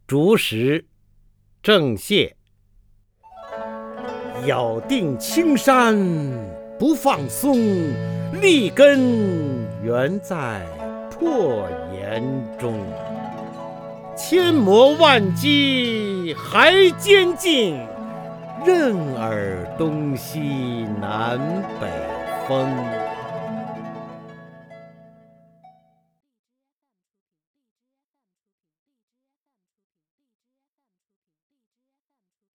竹石，郑燮。咬定青山不放松，立根原在破岩中。千磨万击还坚劲，任尔东西南北风。